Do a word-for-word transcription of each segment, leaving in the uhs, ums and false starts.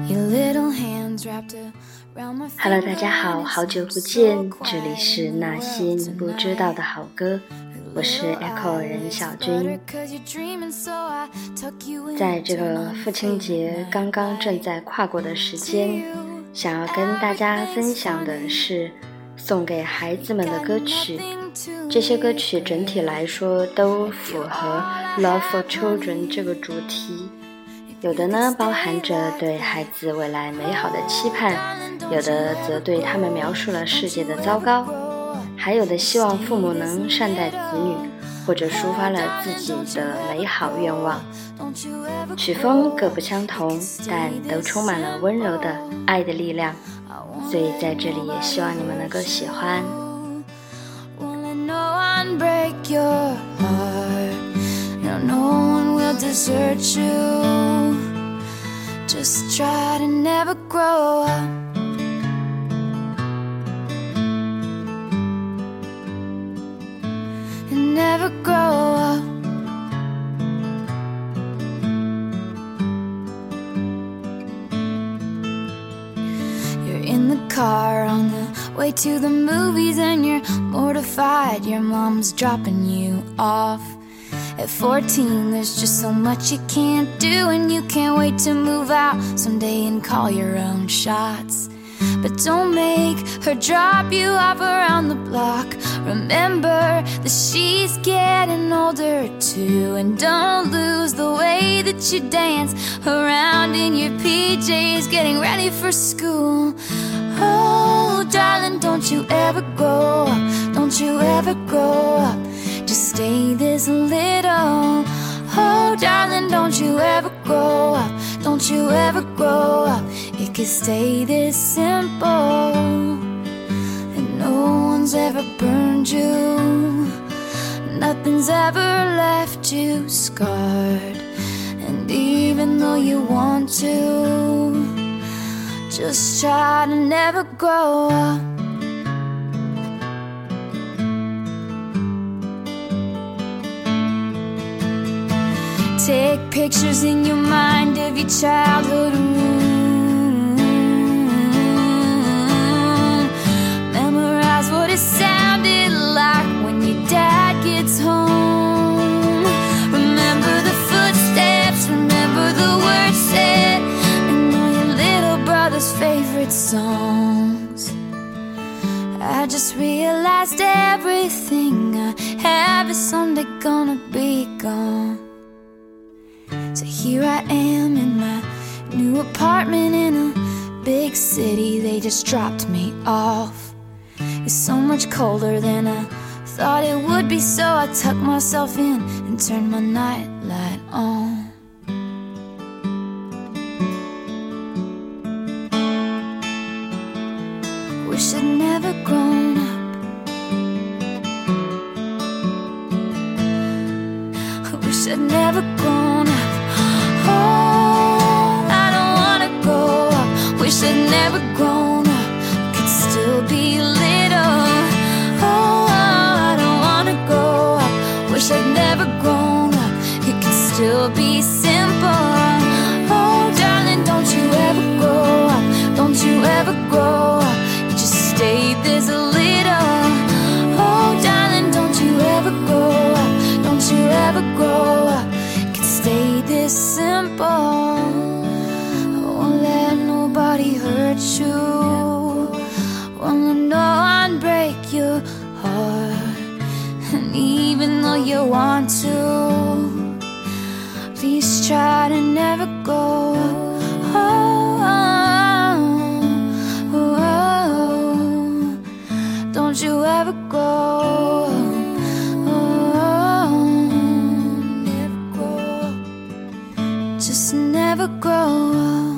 Hello， 大家好，好久不见，这里是那些你不知道的好歌，我是 Echo 任小军。在这个父亲节刚刚正在跨过的时间，想要跟大家分享的是送给孩子们的歌曲。这些歌曲整体来说都符合 Love for Children 这个主题，有的呢包含着对孩子未来美好的期盼，有的则对他们描述了世界的糟糕，还有的希望父母能善待子女，或者抒发了自己的美好愿望。曲风各不相同，但都充满了温柔的爱的力量，所以在这里也希望你们能够喜欢。 Break your heart, no, no one will desert you. Just try to never grow up. And never grow up. You're in the car on the way to the movies and you're mortified your mom's dropping you off. At fourteen there's just so much you can't do, and you can't wait to move out someday and call your own shots. But don't make her drop you off around the block. Remember that she's getting older too, and don't lose the way that you dance around in your P Js getting ready for school. Oh, darling, don't you ever grow up, don't you ever grow up, just stay this little. Oh, darling, don't you ever grow up, don't you ever grow up, it could stay this simple. And no one's ever burned you, nothing's ever left you scarred. And even though you want to, just try to never grow up. Take pictures in your mind of your childhood room. Memorize what it sounded like when your dad gets home. Remember the footsteps, remember the words said, and all your little brother's favorite songs. I just realized everything I have is someday gonna be gone. So here I am in my new apartment in a big city. They just dropped me off. It's so much colder than I thought it would be, so I tucked myself in and turned my nightlight on. Wish I'd never grown up. I wish I'd never grown up. Oh, I don't wanna grow up. Wish I'd never grown up, could still be little. Oh, I don't wanna grow up. Wish I'd never grown up, it could still be simple. Oh, darling, don't you ever grow up, don't you ever grow up, just stay this little. Oh, darling, don't you ever grow up, don't you ever grow up, stay this simple. I won't let nobody hurt you, won't let no one break your heart. And even though you want to, please try to never go. Oh, oh, oh, oh. Don't you ever go. Just never grow up.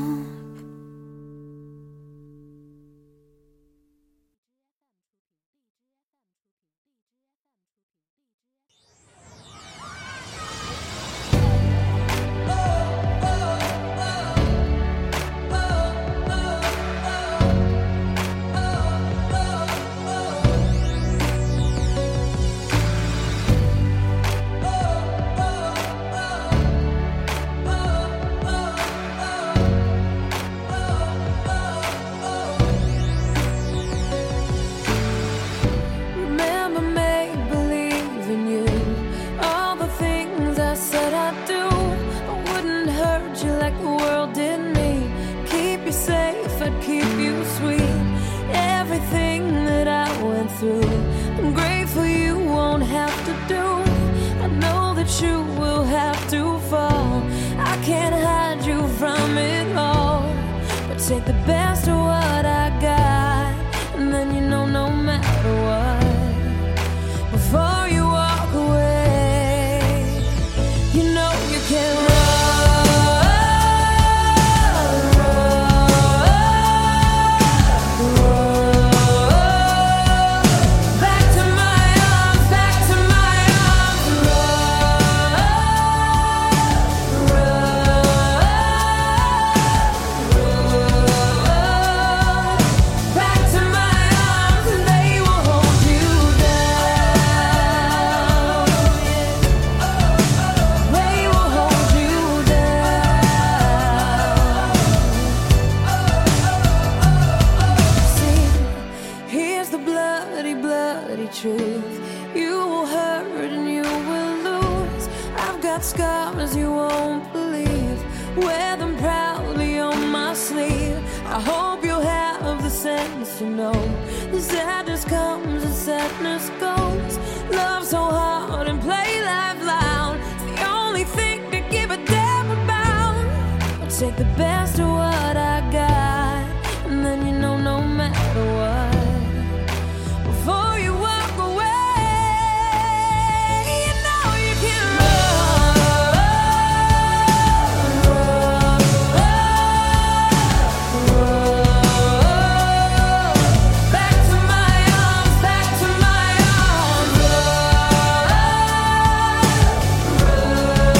through. I'm grateful you won't have to do. I know that you will have to fall. I can't hide you from it all, but take the best of what I got, and then you know no matter what, before you walk away, you know you can run. Truth, you will hurt and you will lose. I've got scars you won't believe, wear them proudly on my sleeve. I hope you have the sense to know the sadness comes and sadness goes. Love so hard and play life loud, it's the only thing to give a damn about. I'll take the best of what I got, and then you know no matter what, before you walk away, you know you can run, run, run, run. Back to my arms, back to my arms, run,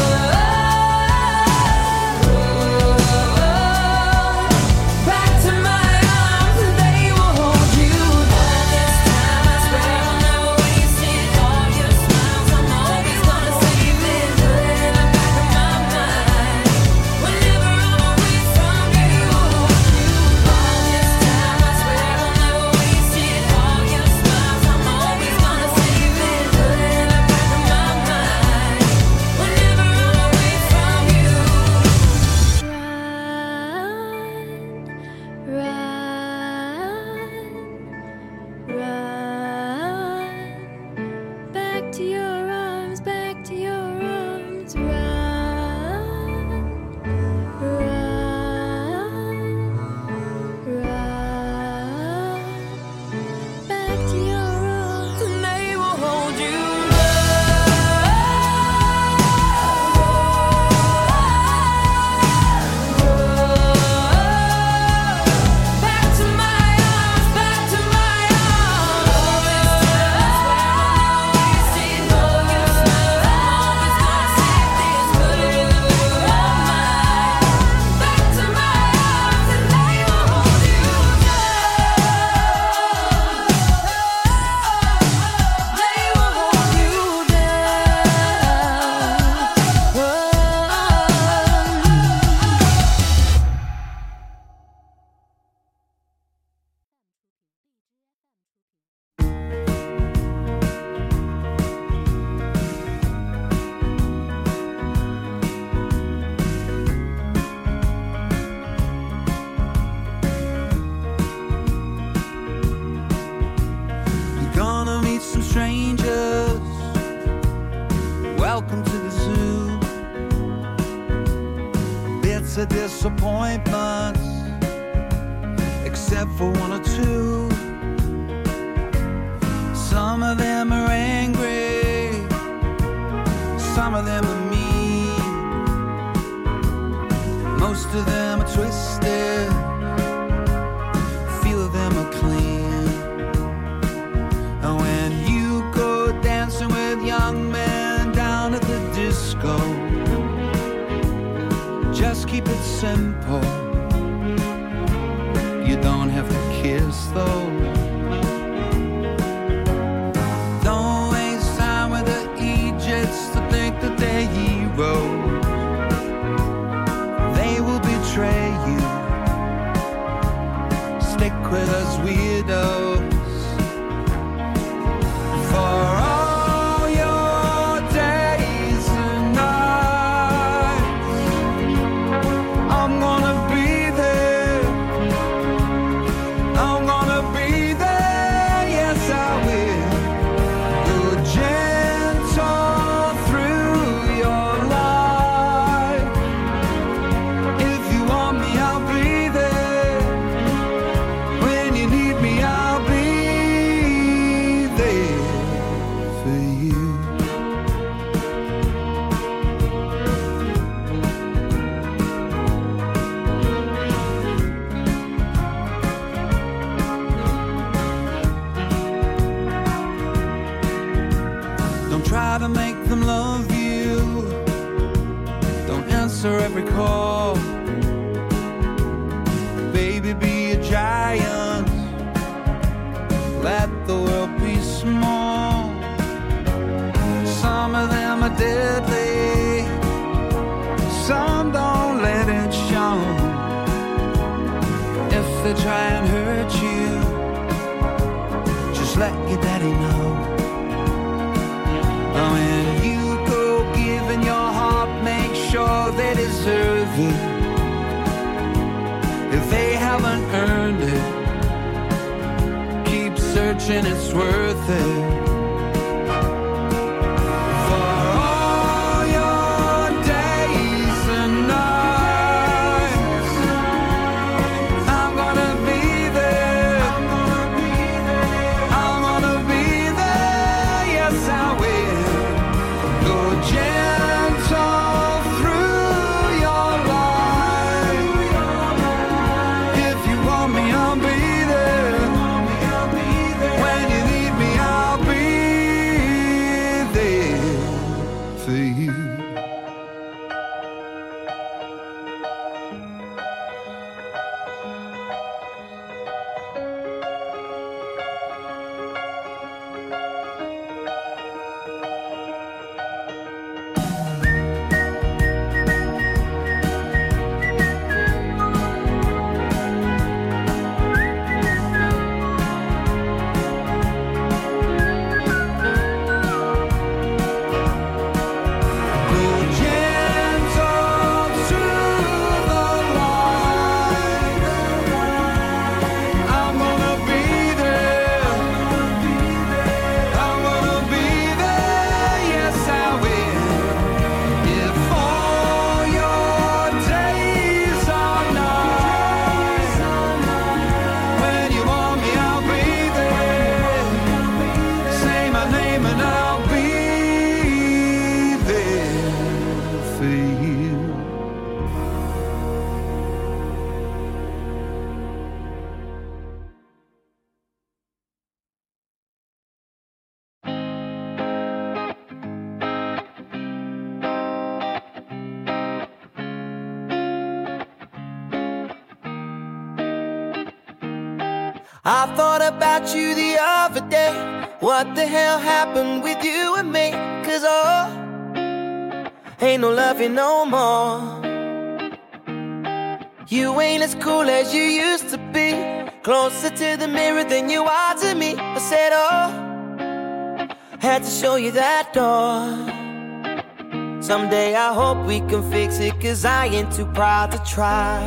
run, run. Back to my arms, and they will hold you down. This time I swear I'll never waste it. All your smiles, I'm always gonna save it. Put it in the back of my mind. Whenever I'm away from you, all this time I swear I'll never waste it. All your smiles, I'm always gonna save it. Put it in the back of my mind. Whenever I'm away from you, run, run, run. Back to your arms, back to your arms, run, run, run. Back to your arms, and they will hold you. Back to my arms, back to my You're gonna meet some strangers. Welcome to the zoo. Bits of disappointments, except for one or two. Some of them are angry, some of them are mean, most of them are twisted, few of them are clean. And when you go dancing with young men down at the disco, just keep it simple. You don't have to kiss though. Don't waste time with the Egypts to think that they're heroes. They will betray you. Stick with us weirdos. For all your days and nights, I'm gonna be deadly. Some don't let it show. If they try and hurt you, just let your daddy know. When you go giving your heart, make sure they deserve it. If they haven't earned it, keep searching, it's worth it. I thought about you the other day. What the hell happened with you and me? Cause oh, ain't no loving no more. You ain't as cool as you used to be. Closer to the mirror than you are to me. I said oh, had to show you that door. Someday I hope we can fix it, cause I ain't too proud to try.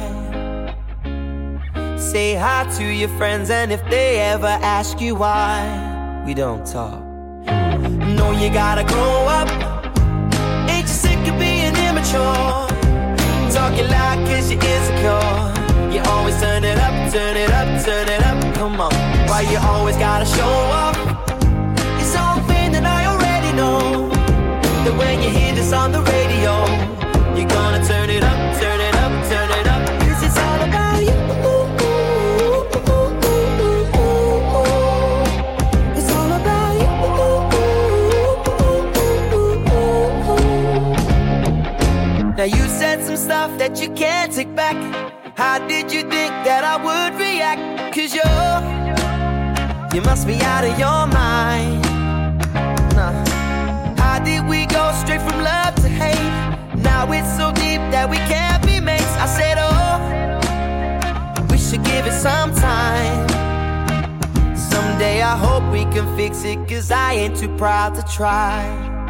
Say hi to your friends, and if they ever ask you why we don't talk, know you gotta grow up. Ain't you sick of being immature? Talking loud cause you're insecure. You always turn it up, turn it up, turn it up. Come on, why you always gotta show up? It's something that I already know, that when you hear this on the radio, you're gonna turn it up, turn it up, turn it up. Cause it's all about you. Now you said some stuff that you can't take back. How did you think that I would react? Cause you're, you must be out of your mind. Nah. How did we go straight from love to hate? Now it's so deep that we can't be mates. I said oh, we should give it some time. Someday I hope we can fix it, cause I ain't too proud to try.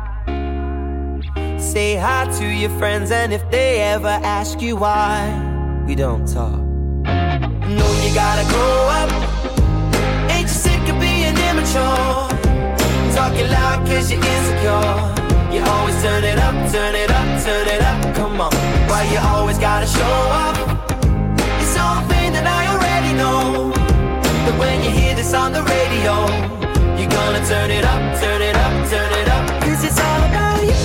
Say hi to your friends, and if they ever ask you why we don't talk, know you gotta grow up. Ain't you sick of being immature? Talking loud cause you're insecure. You always turn it up, turn it up, turn it up. Come on, why you always gotta show up? It's something that I already know, that when you hear this on the radio, you're gonna turn it up, turn it up, turn it up. Cause it's all about you.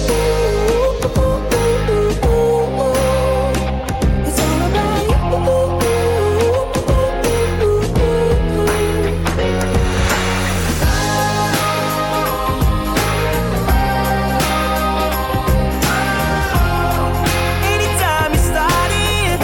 It's all about you. Anytime you start it,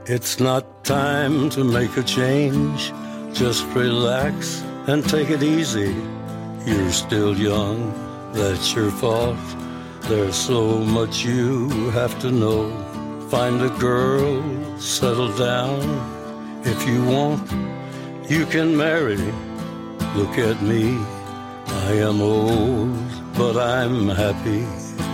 It's not time to make a change. Just relax and take it easy. You're still young, that's your fault. There's so much you have to know. Find a girl, settle down. If you want, you can marry. Look at me, I am old, but I'm happy.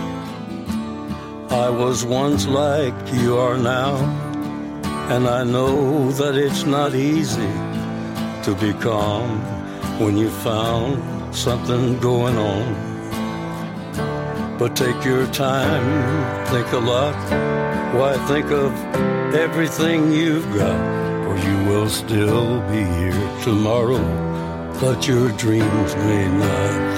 I was once like you are now, and I know that it's not easy to be calm when you found something going on. But take your time, think a lot. Why, think of everything you've got, or you will still be here tomorrow, but your dreams may not.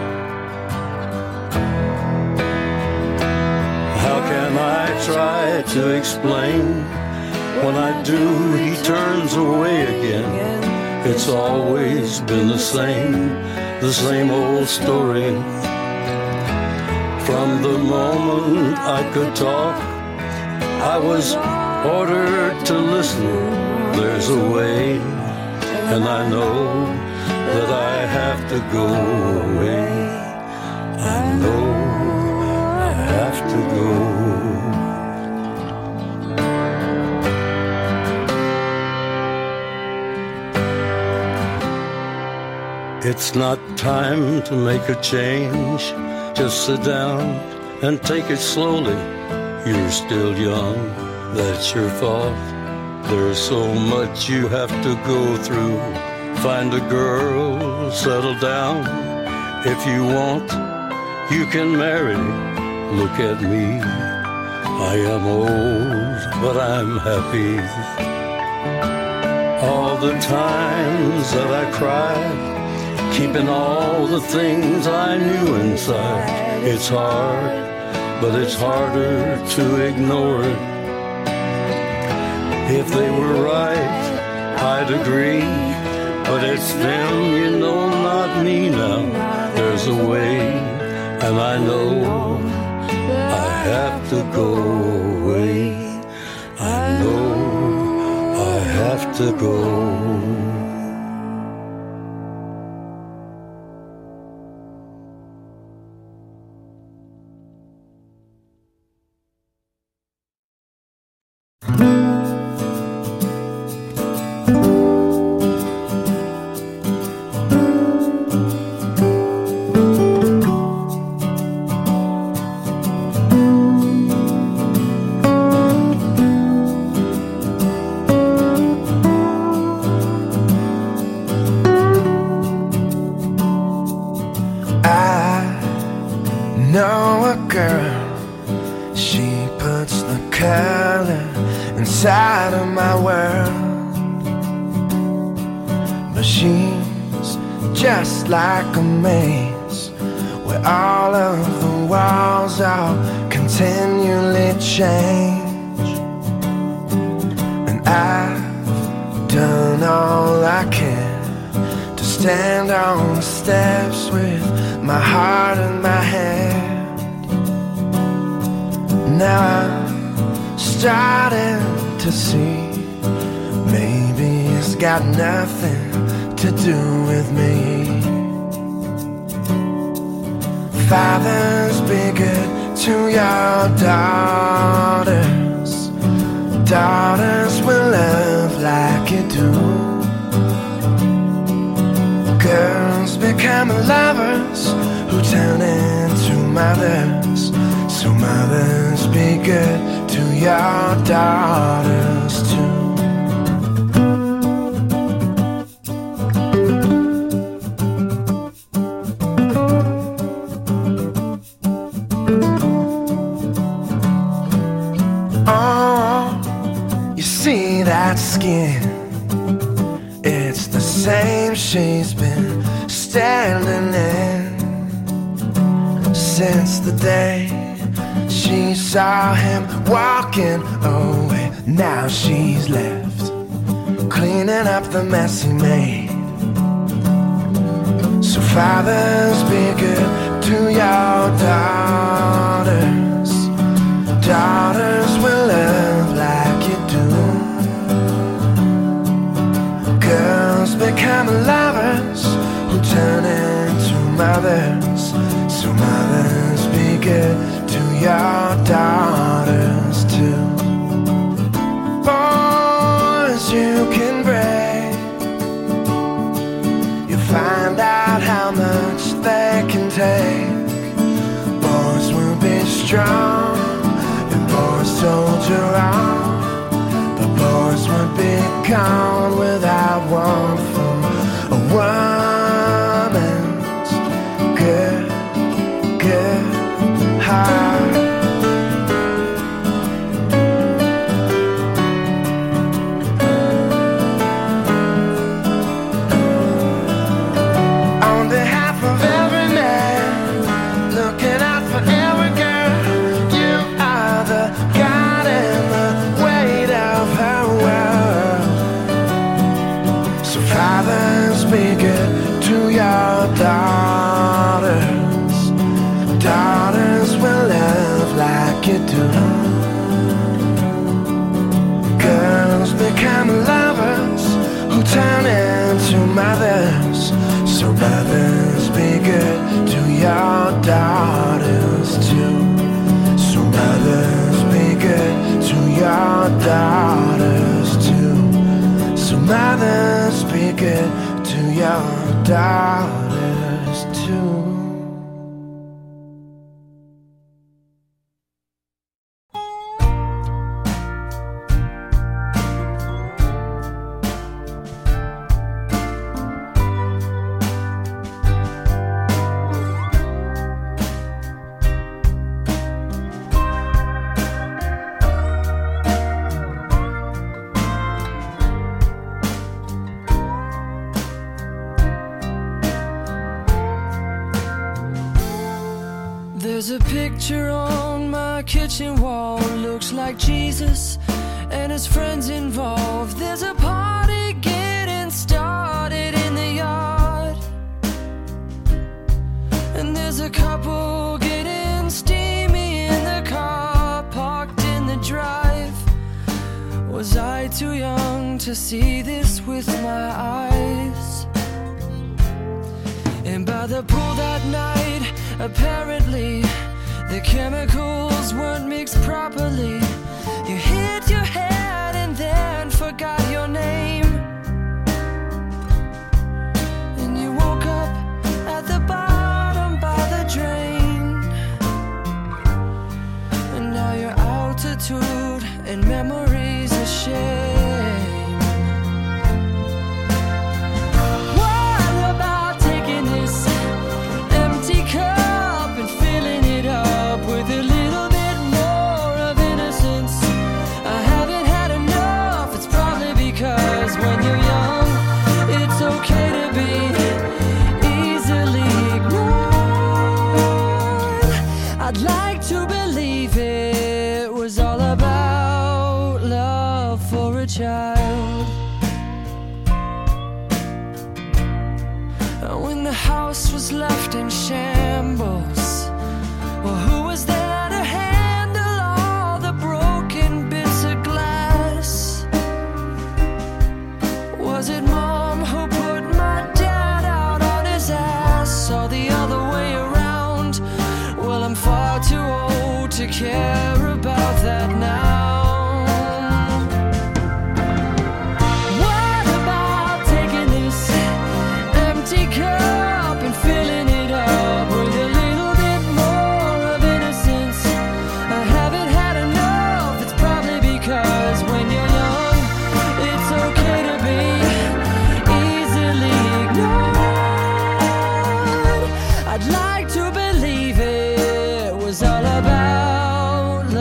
How can I try to explain? When I do, he turns away again. It's always been the same, the same old story. From the moment I could talk, I was ordered to listen. There's a way, and I know that I have to go away. I know I have to go. It's not time to make a change. Just sit down and take it slowly. You're still young, that's your fault. There's so much you have to go through. Find a girl, settle down. If you want, you can marry. Look at me, I am old, but I'm happy. All the times that I cried, keeping all the things I knew inside. It's hard, but it's harder to ignore it. If they were right, I'd agree, but it's them, you know, not me now. There's a way, and I know I have to go away. I know I have to go. Inside of my world, but she's just like a maze where all of the walls all continually change. And I've done all I can to stand on the steps with my heart in my hand. Now I'm starting to see maybe it's got nothing to do with me. Fathers, be good to your daughters. Daughters will love like you do. Girls become lovers who turn into mothers. So mothers, be good to your daughters too. Oh, you see that skin? It's the same she's been standing in since the day she saw him walking away. Now she's left cleaning up the mess he made. So fathers, be good to your daughters. Daughters will love like you do. Girls become lovers who turn into mothers. So mothers, be good to your daughters too. Boys you can break, you find out how much they can take. Boys will be strong, and boys soldier on. The boys would be gone without one from a woman's good, good heart. On behalf of every man, looking out for every girl, you are the God and the weight of her world. So fathers, be good to your daughters. Daughters will love like you do. Girls become lovers who turn into mothers. So mothers, be good to your daughters too. So mothers, be good to your daughters too. So mothers, be good to your daughters too. There's a picture on my kitchen wall, looks like Jesus and his friends involved. There's a party getting started in the yard, and there's a couple getting steamy in the car parked in the drive. Was I too young to see this with my eyes? And by the pool that night, apparently the chemicals weren't mixed properly. You hit your head and then forgot your name, and you woke up at the bottom by the drain. And now your altitude and memories are shame. I'd like to believe it was all about love for a child. When the house was left in shambles, well, who was there to handle all the broken bits of glass? Was it Mom who put my dad out on his ass, or the other way around? Well, I'm far too old to care about that now. What about taking this empty cup and filling it up with a little bit more of innocence? I haven't had enough. It's probably because when you're young, it's okay to be easily ignored. I'd like to believe it was all about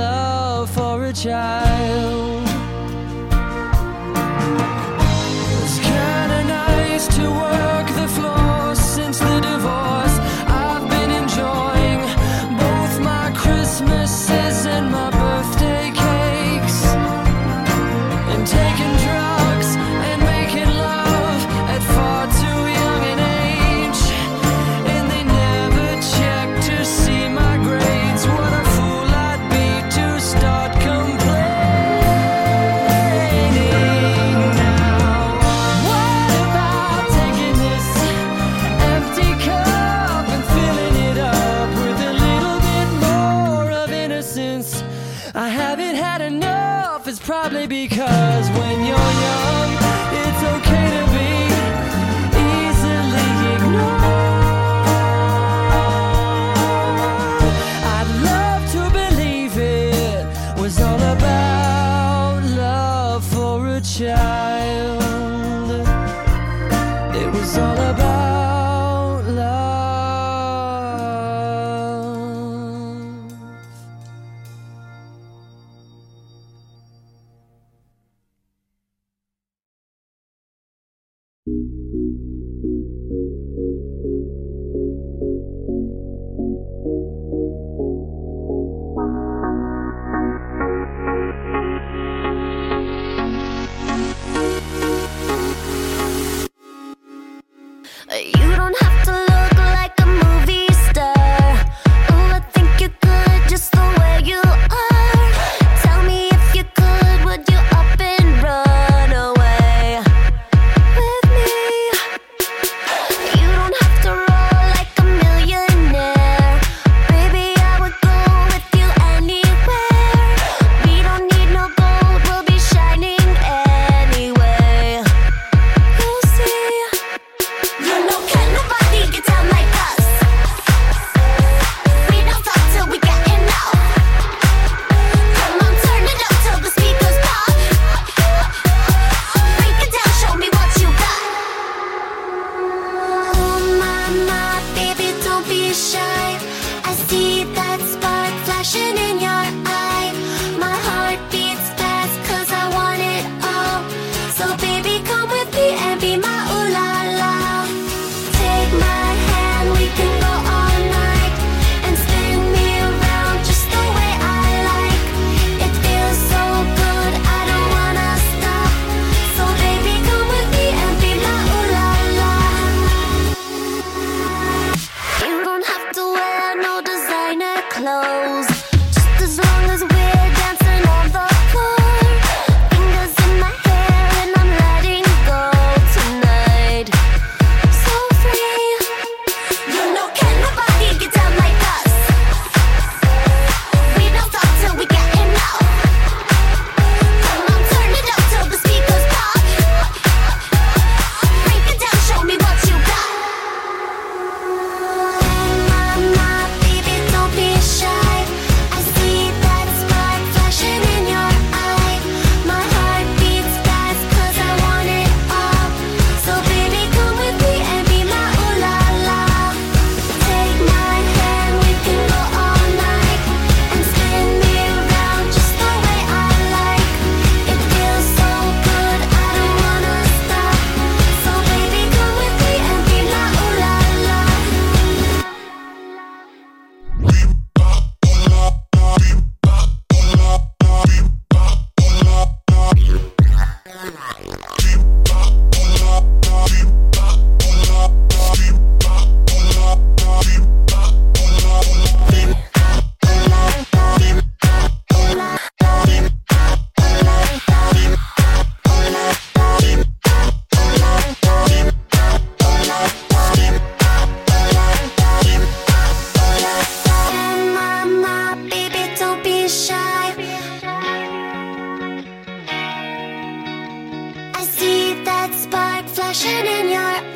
It was all about love. You don't have to look like a movie star. Oh, I think you're good just the way you are. Tell me if you could, would you up and run away with me? You don't have to roll like a millionaire. Baby, I would go with you anywhere. We don't need no gold, we'll be shining anyway. You'll see. You know, can't nobody get down like us. We don't talk till we get enough. Come on, turn it up till the speakers pop. Break it down, show me what you got. Oh my, my, baby, don't be shy. I see that spark flashing in your eye. My heart beats fast 'cause I want it all. So baby, come with me and be my ooh la la. Take my hand, we can go all night and spin me around just the way I like. It feels so good, I don't wanna stop. So baby, come with me and be my ooh la la. You don't have to wear no designer clothes, just as long as we're dancing on the floor. Fingers in my hair and I'm letting go tonight. So free. You know, can't nobody get down like us. We don't talk till we get enough. Come on, turn it up till the speakers pop. Break it down, show me what you got. Oh my, my, baby, don't be shy. I see that spark flashing in your eye. My heart beats fast 'cause I want it all. So baby, come with me and be my ooh la la. Take my hand, we can go all night and spin me around just the way I like. It feels so good, I don't wanna stop. So baby, come with me and be my ooh la la. My, my, baby, don't be shy. I see that spark flashing in your